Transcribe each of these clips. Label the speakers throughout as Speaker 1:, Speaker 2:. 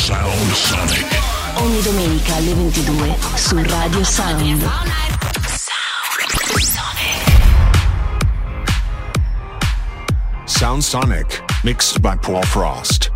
Speaker 1: Sound Sonic.
Speaker 2: Ogni domenica alle 22 su Radio Sound.
Speaker 1: Sound Sonic, mixed by Paul Frost.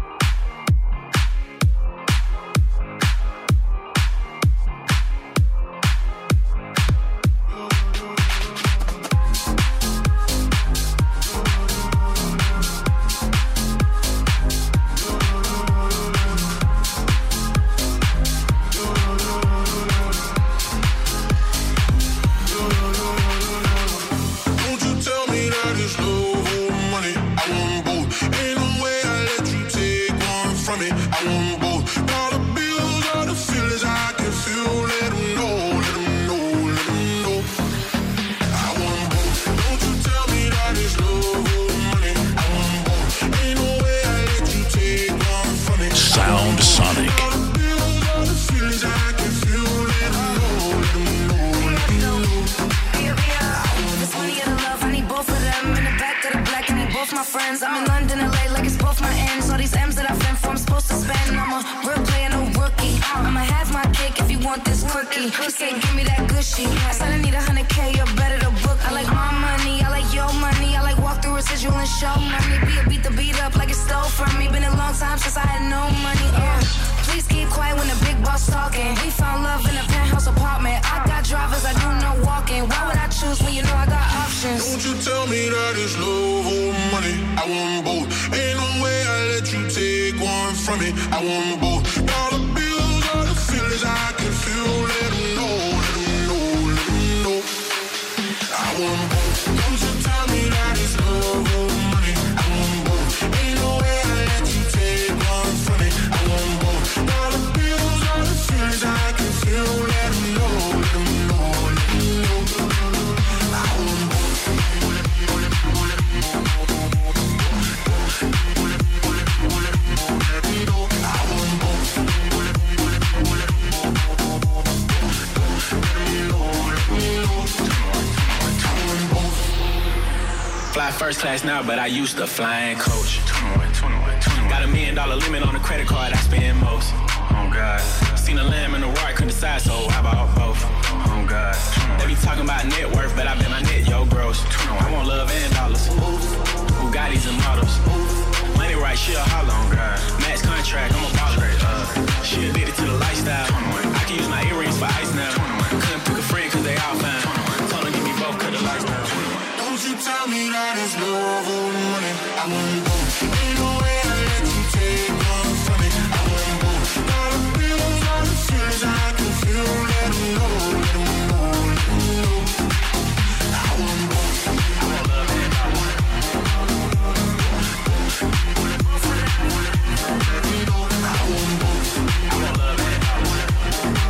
Speaker 3: First class now, but I used to flying coach. 21. Got $1 million limit on the credit card, I spend most. Oh God. Seen a lamb and a roar, couldn't decide, so I bought both. Oh God. They be talking about net worth, but I bet my net, yo, gross. I want love and dollars. Bugattis and models. Money right, she a holler on God. Max contract, I'm a baller. She addicted to the lifestyle. I can use my earrings for ice now. Couldn't pick a friend cause they all fine. Told her give me both cause the lifestyle.
Speaker 4: Don't you tell me that it's love or money. I want both. Ain't no way I let you take one from me. I want both. All the feels, all the fears I can feel. Let them know, let them know, let them know. I want both. I want love and I want it. I want both. I want love and I want it.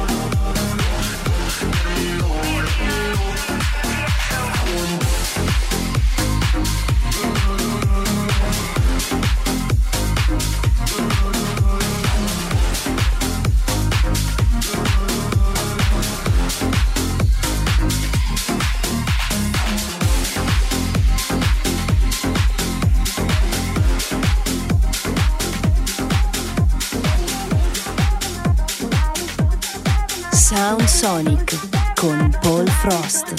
Speaker 2: Sound Sonic con Paul Frost.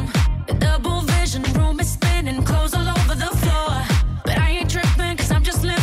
Speaker 5: Clothes all over the floor, but I ain't tripping 'cause I'm just living.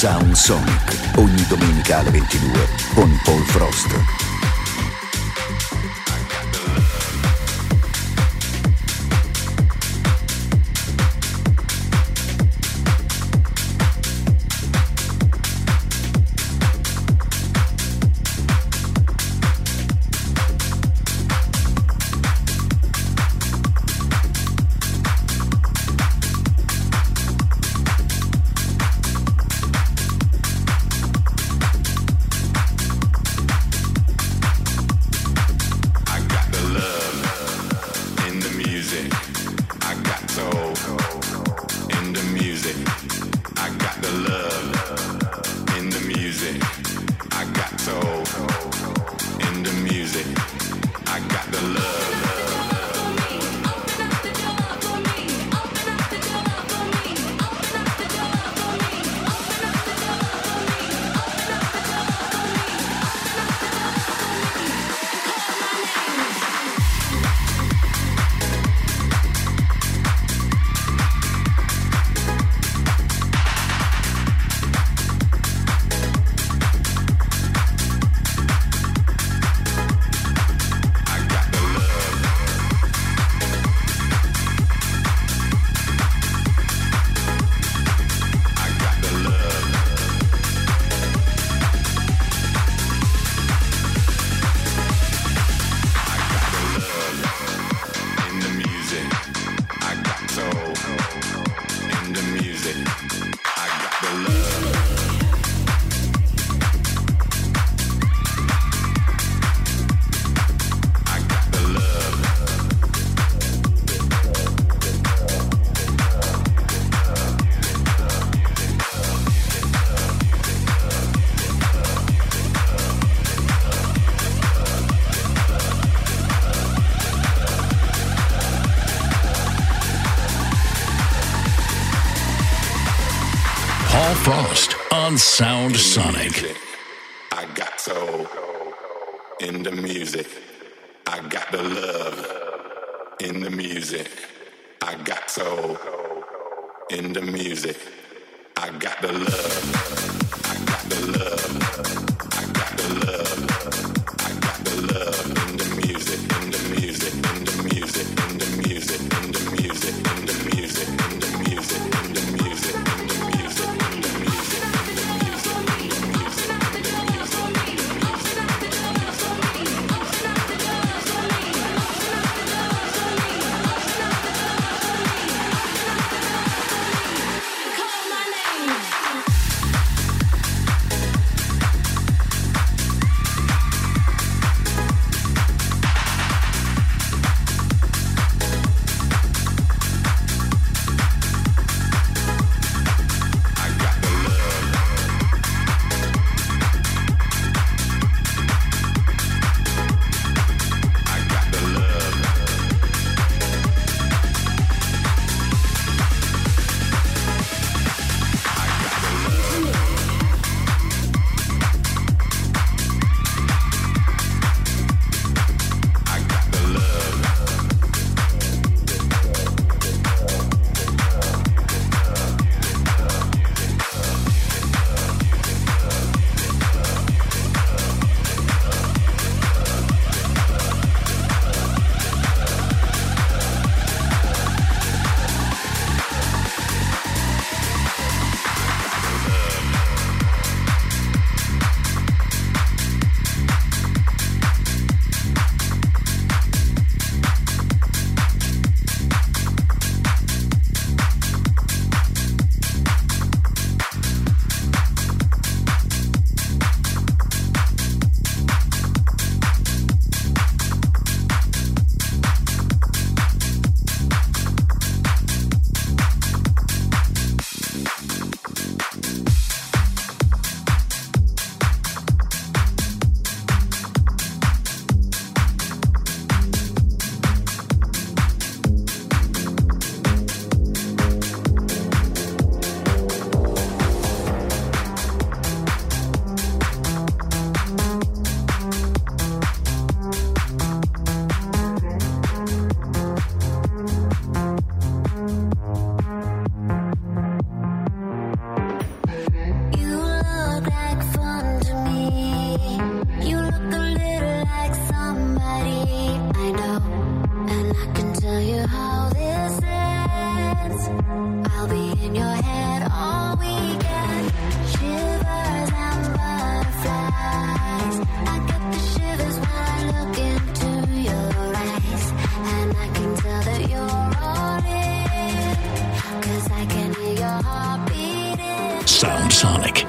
Speaker 5: Sound Sonic, ogni domenica alle 22 con Paul Frost.
Speaker 1: Frost on Sound Sonic.
Speaker 6: I got soul in the music. I got the love in the music. I got soul in the music. I got the love. I got the love. I got the love. I got the love in the music. In the music. In the music. In the music. In the music. In the music. In the music. In the music.
Speaker 1: Sound Sonic.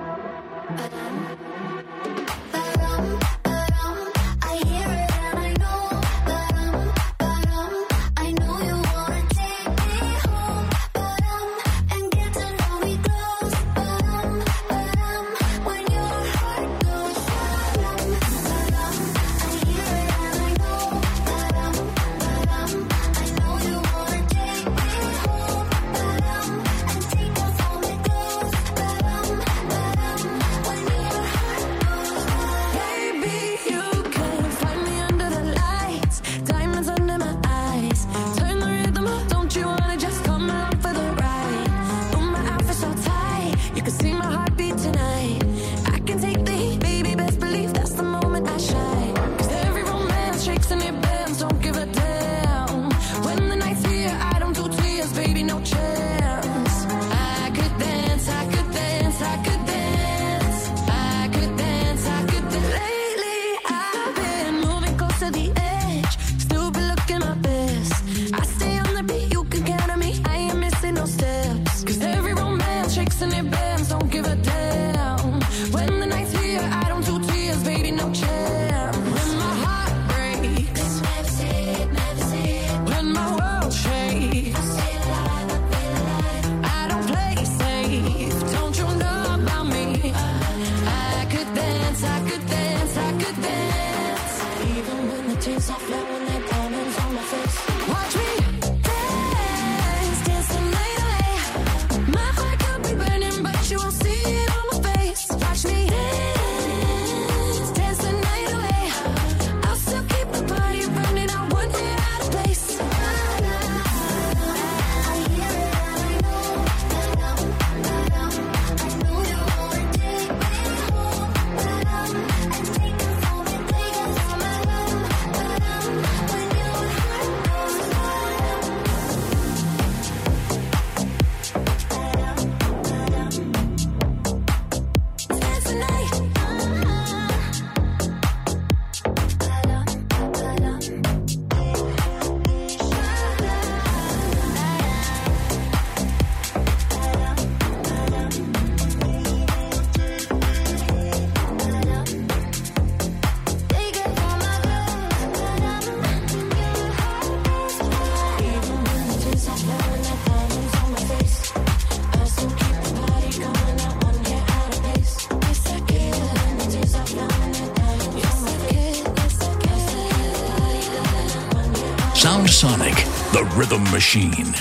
Speaker 1: Sound Sonic, the rhythm machine.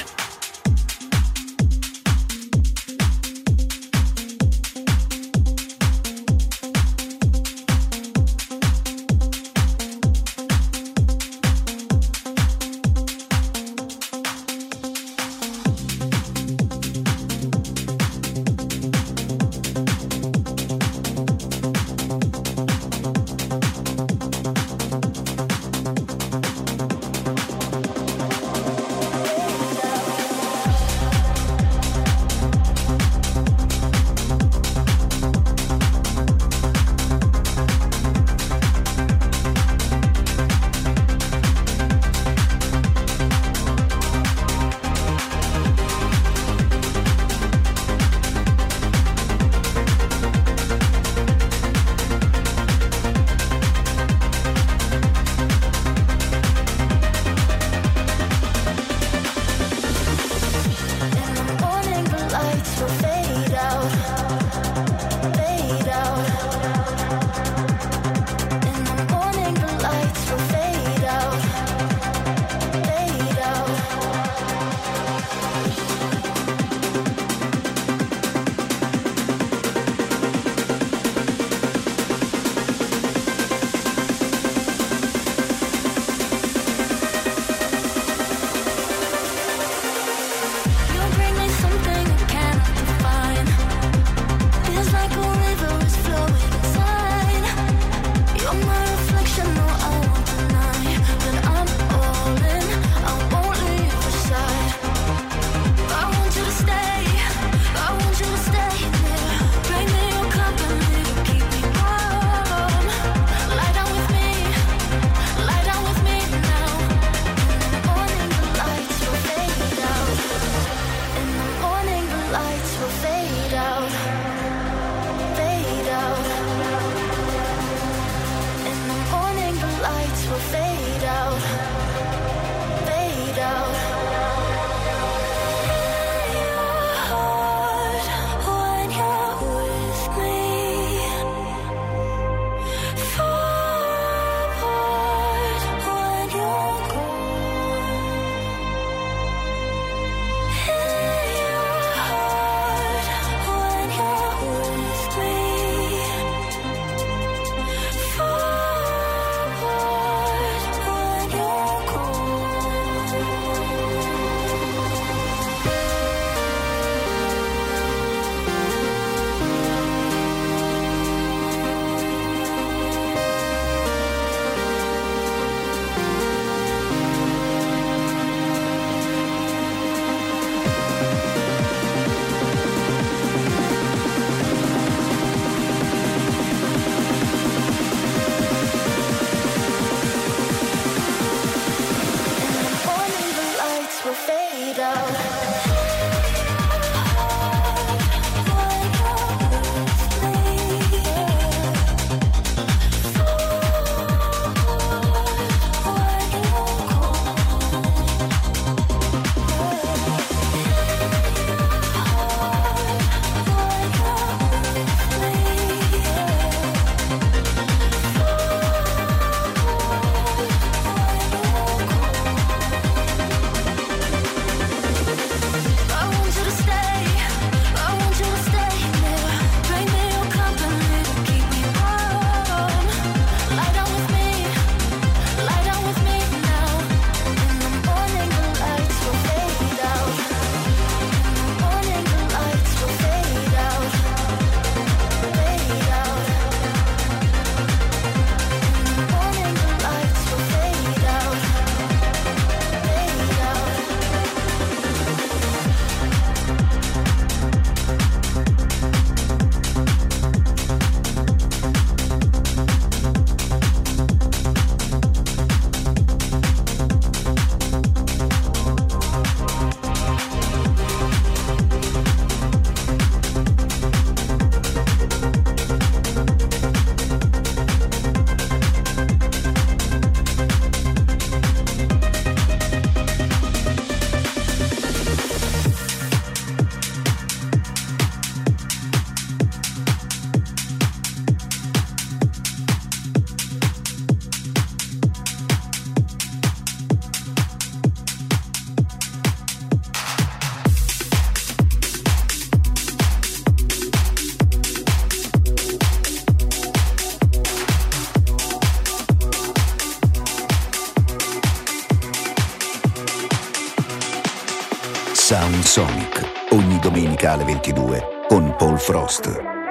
Speaker 5: Sonic, ogni domenica alle 22 con Paul Frost.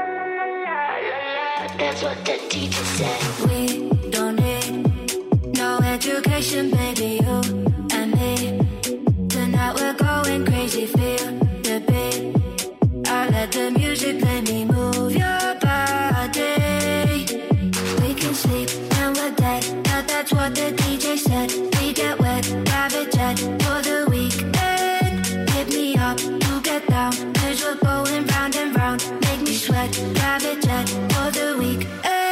Speaker 7: That's what the teacher said. We don't need no education, baby, you and me. Tonight we're going crazy, feel the beat. I let the music play me, move your body. We can sleep and we're dead. That's what the DJ said. We get wet, private jet for the weekend. Hit me up to get down, 'cause we're going round and round. Make me sweat, private jet for the weekend.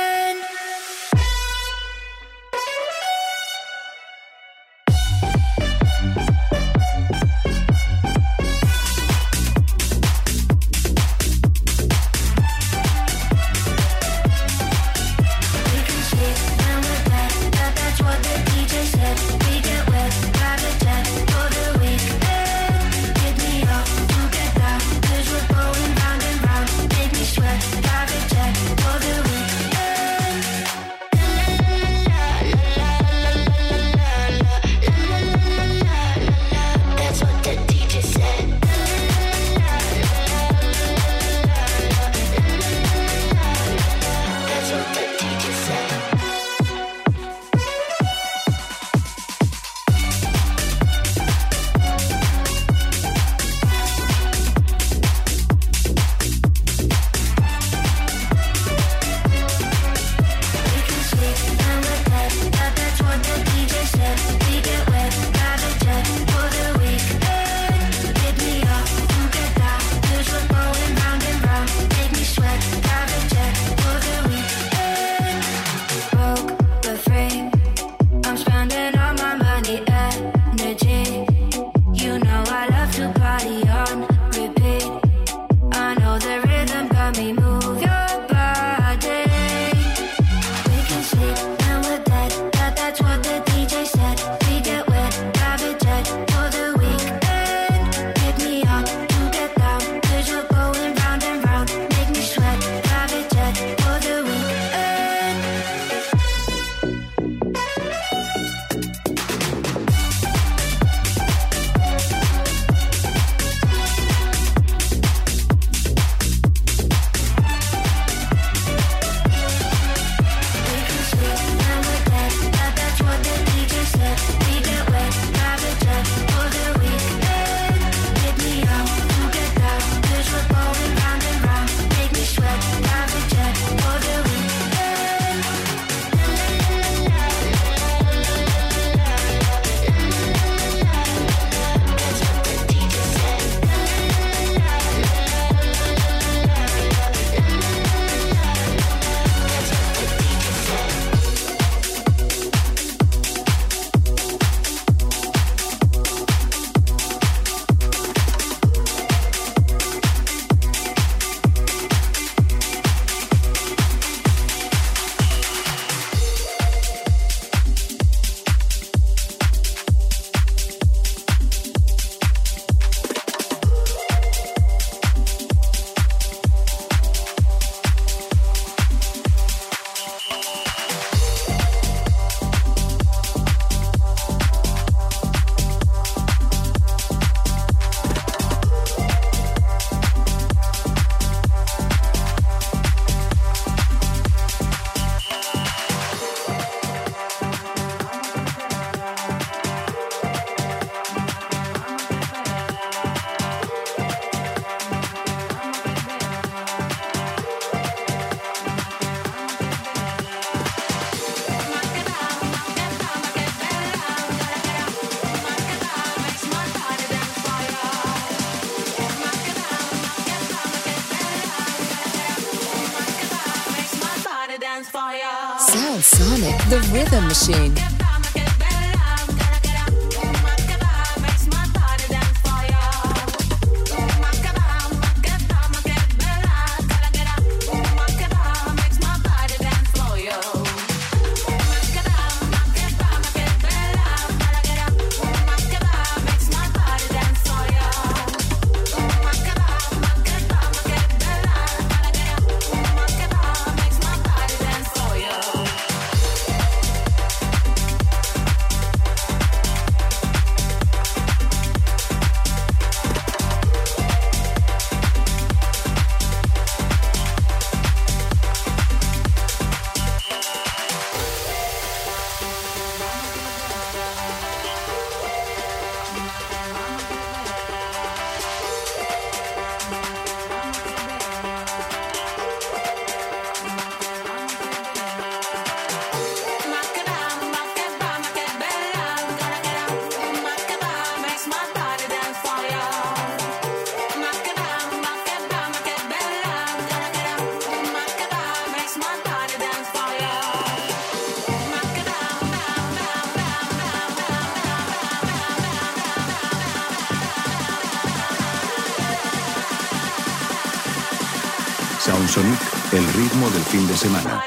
Speaker 8: Sound Sonic, the rhythm machine.
Speaker 5: Sound Sonic, el ritmo del fin de semana.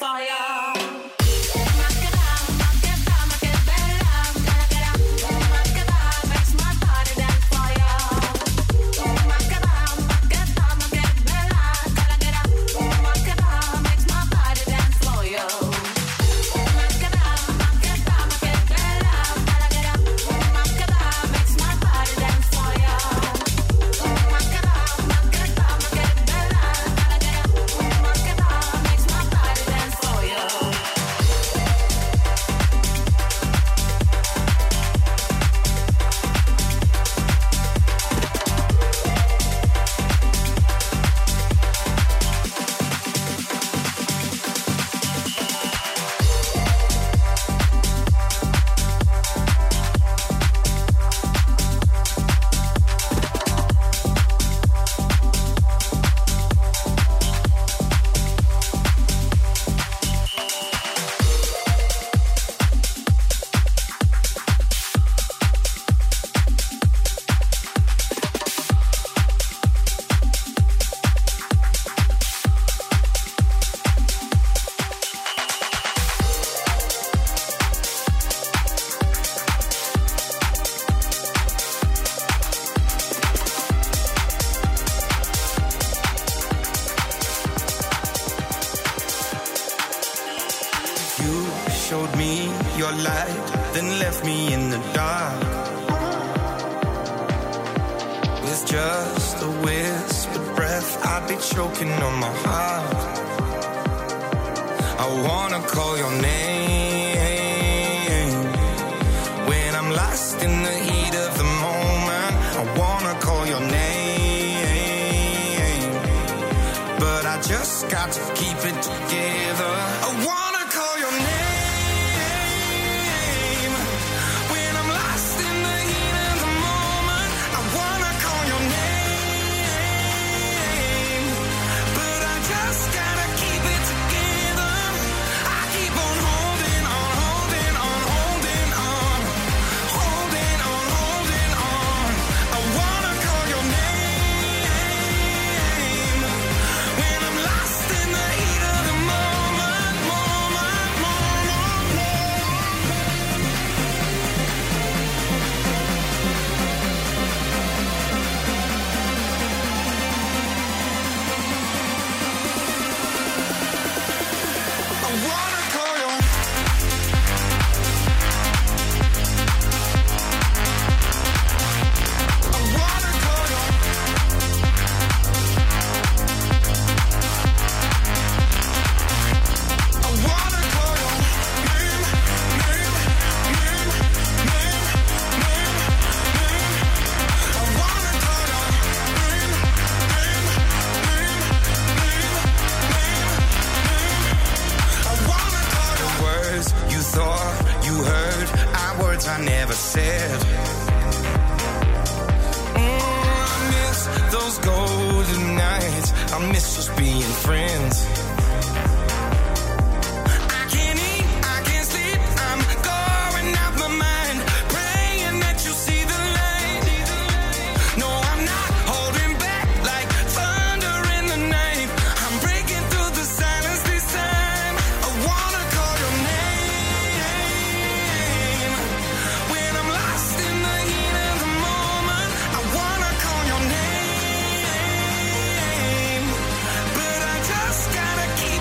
Speaker 9: Showed me your light, then left me in the dark. With just a whispered breath, I'd be choking on my heart. I wanna call your name when I'm lost in the heat of the moment. I wanna call your name, but I just got to keep it together. I wanna call your name. I never said. I miss those golden nights. I miss just being friends. I can't eat, I can't sleep. I'm going out my mind, praying that you see the light. No, I'm not holding back like thunder in the night. I'm breaking through the silence this time. I wanna call your name. Gotta keep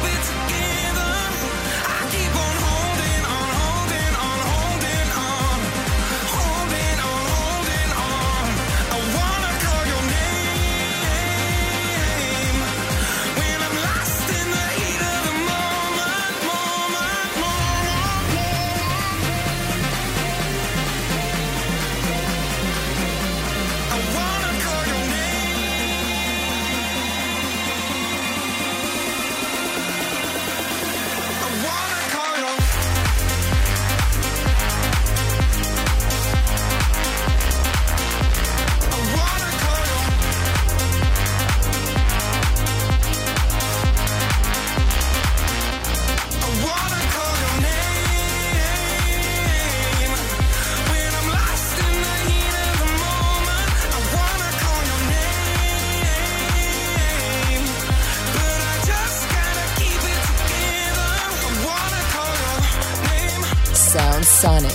Speaker 8: is Sonic.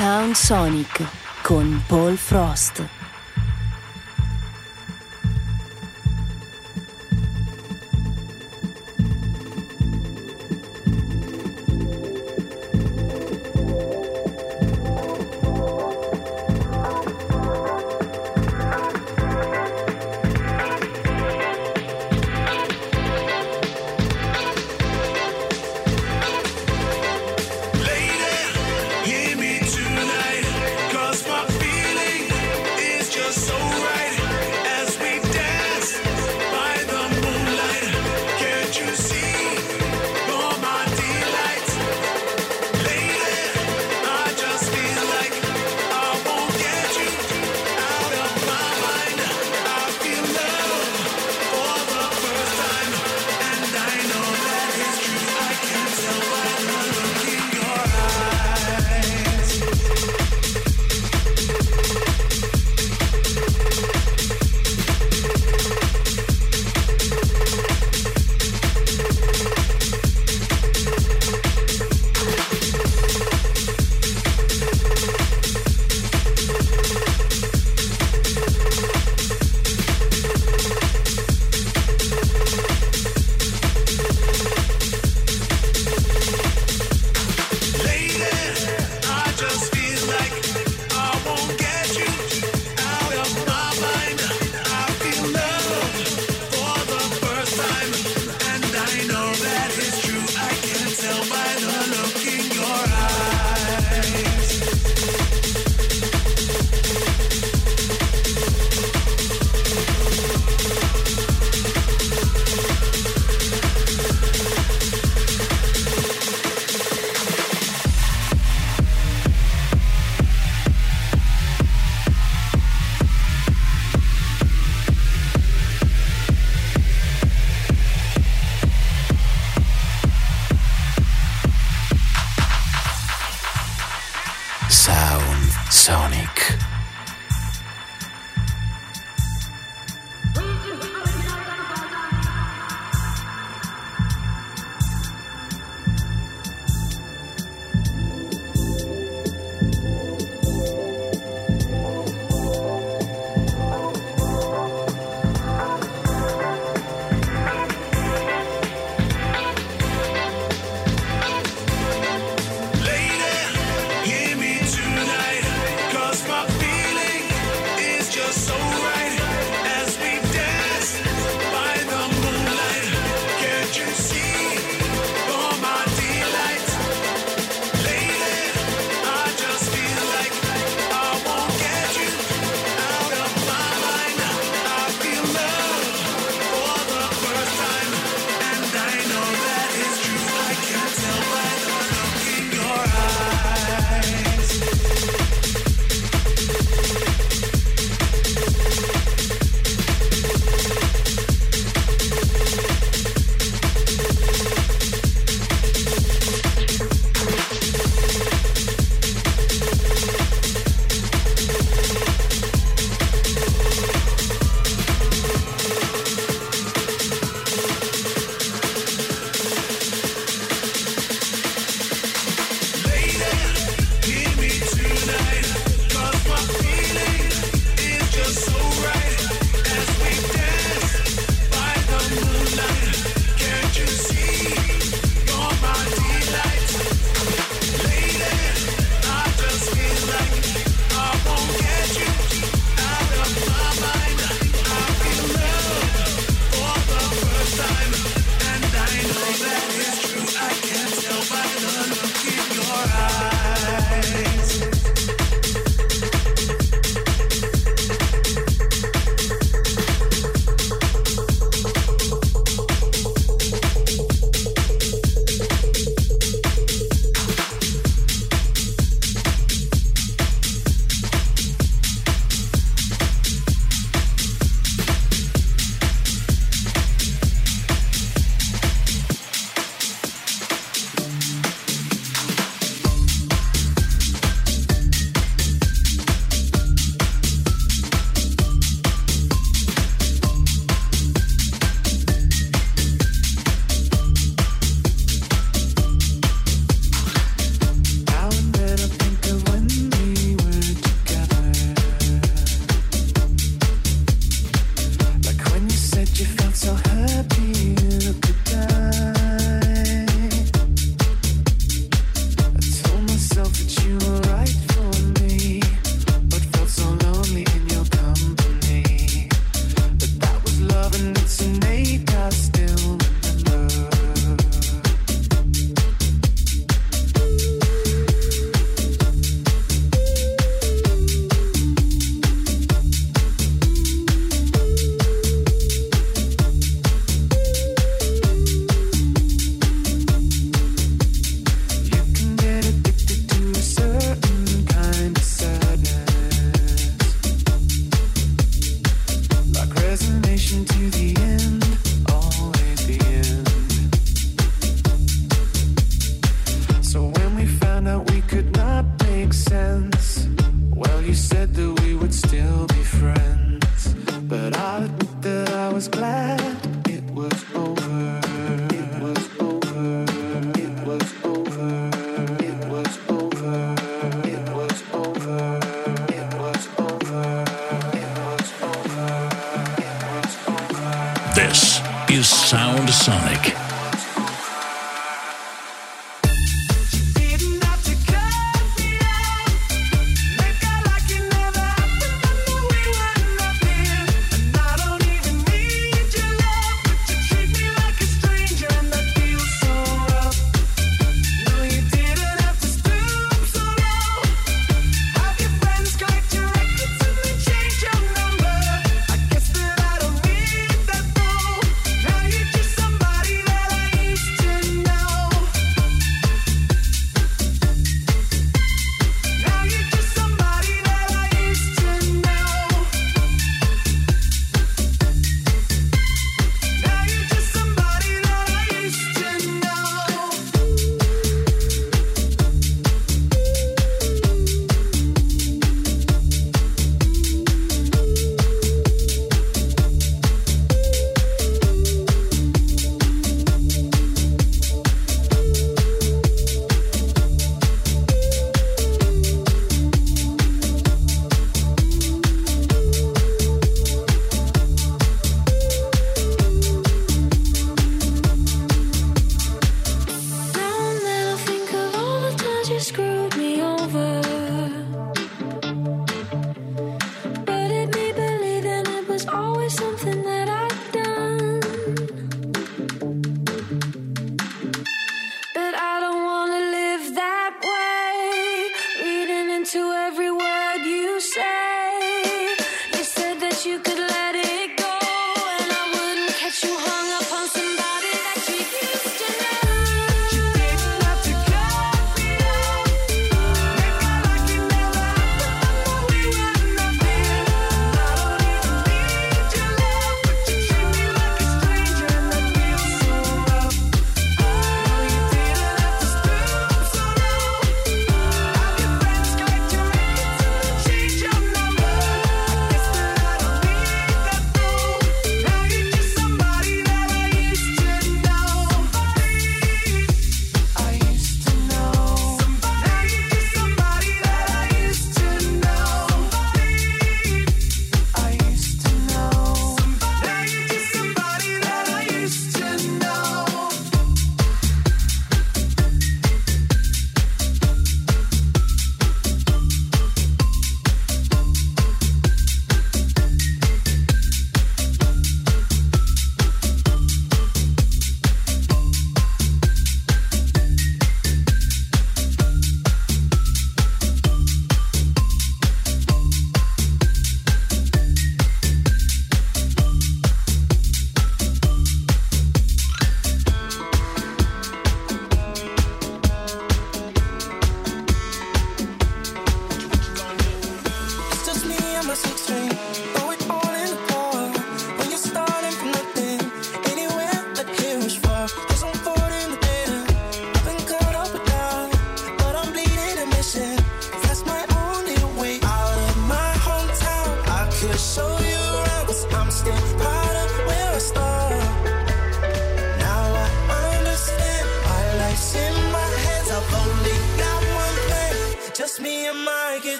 Speaker 2: Sound Sonic con Paul Frost.
Speaker 9: Hear me tonight, 'cause my feeling is just
Speaker 10: Dedication to the end, always the end. So when we found out we could not make sense, well, you said that we would still be friends. But I'll admit that I was glad it was over. It was over. It was over. It was over. It was over. It was over. It was over. It was over.
Speaker 1: This is Sound Sonic.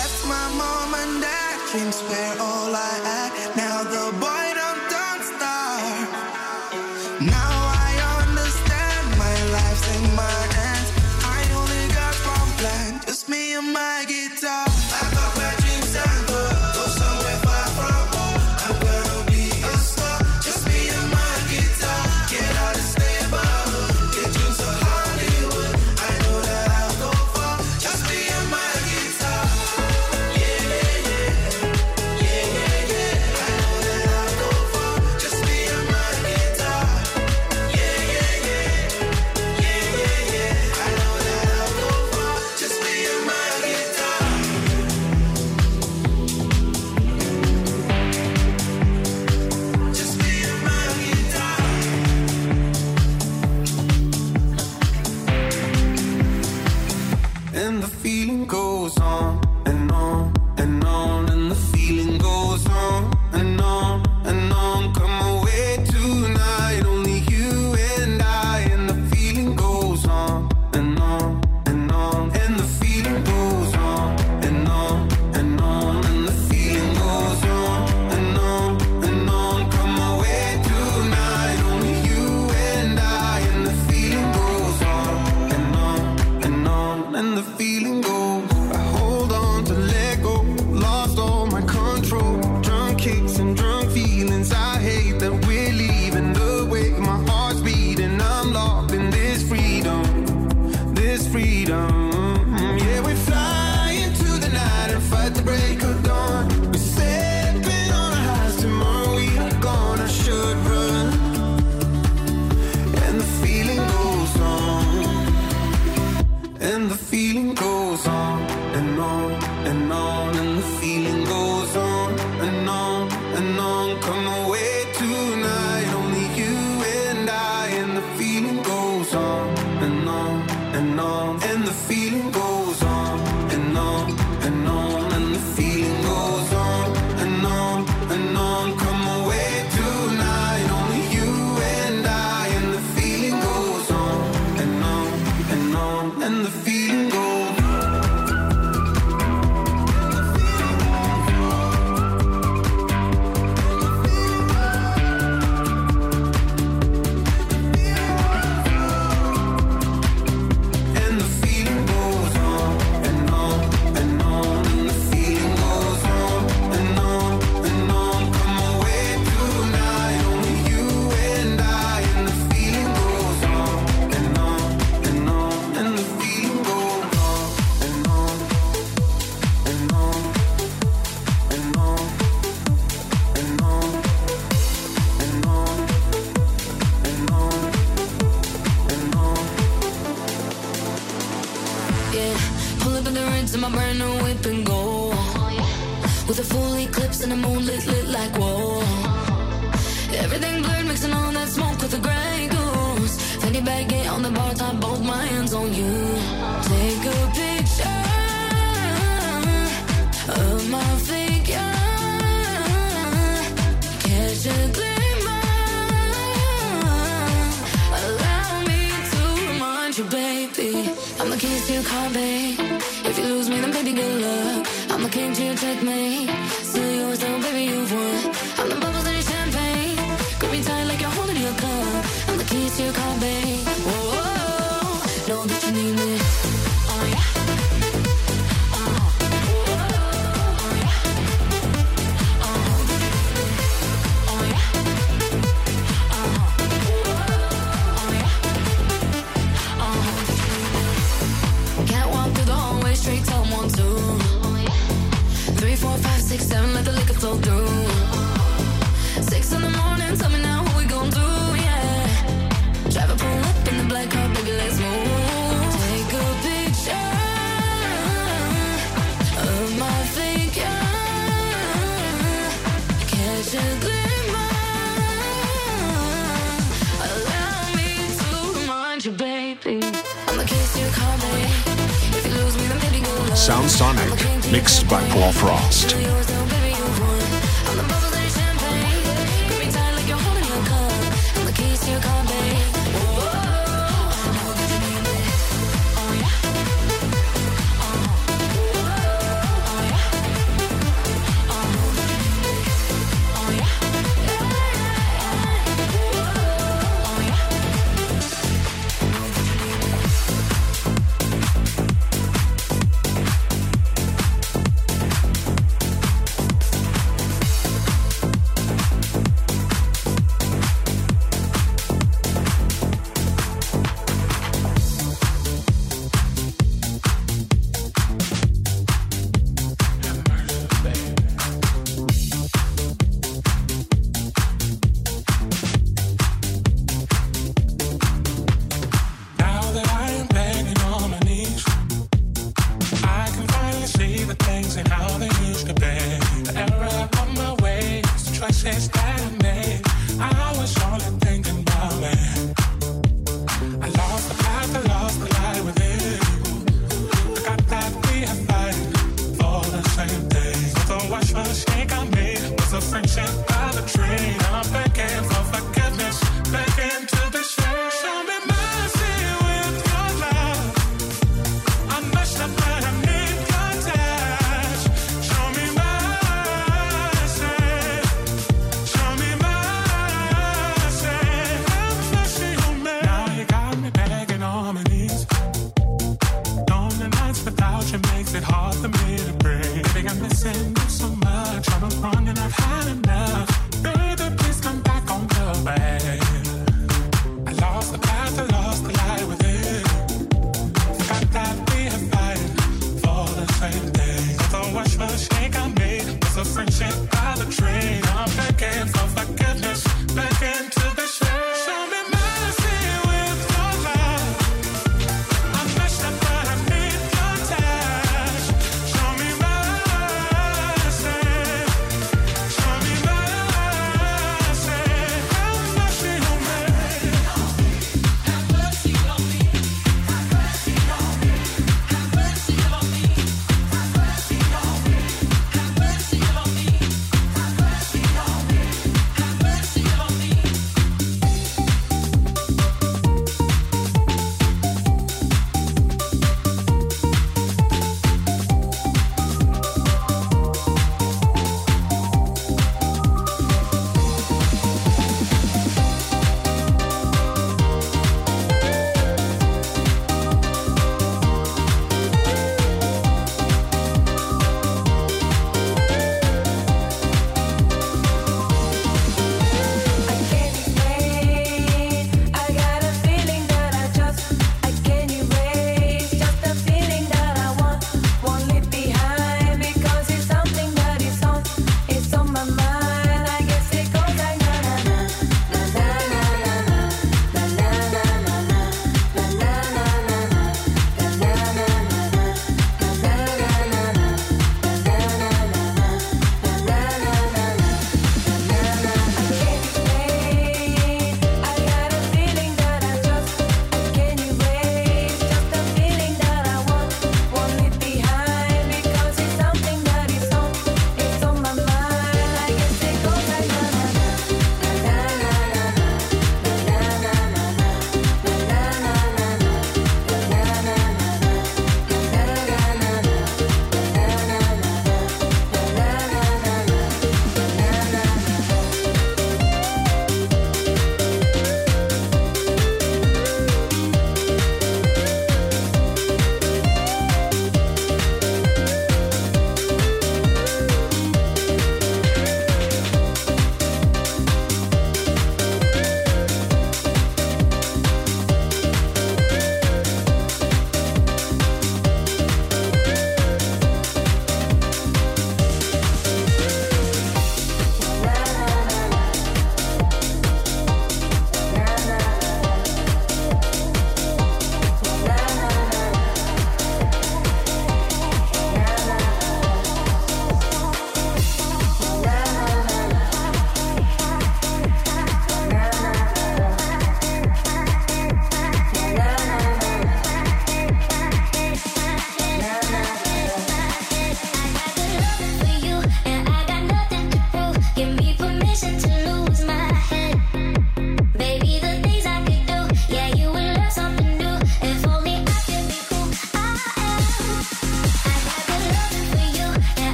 Speaker 11: dreams were all I had. Now the boy don't stop.
Speaker 7: brand new whip and go. With a full eclipse and a moon lit like whoa. Everything blurred, mixing all that smoke with the Grey Goose. Fanny bag, get on the bar top, both my hands on you. Take a picture of my figure. Catch a glimmer. Allow me to remind you, baby, I'm the keys to your car, babe. If you lose me, then baby, good luck. I'm the king to your checkmate. Still yours, though, baby, you've won. I'm the bubbles in your champagne. Grip me tight like you're holding your cup. I'm the keys to your car, babe. Whoa, whoa, know that you need me. Oh, yeah. Straight to 1, 2, 3, 4, 5, 6, 7, let the liquor flow through. 6 in the morning, tell me now what we gon' do, yeah. Drive a pull up in the black car, baby, let's move. Take a picture of my figure. Catch a glimmer. Allow me to remind you, baby, I'm the keys to your car, baby.
Speaker 11: Sound Sonic, mixed by Paul Frost.
Speaker 10: Makes it hard for me to breathe. Baby, I'm missing you so much. I'm wrong and I've had enough.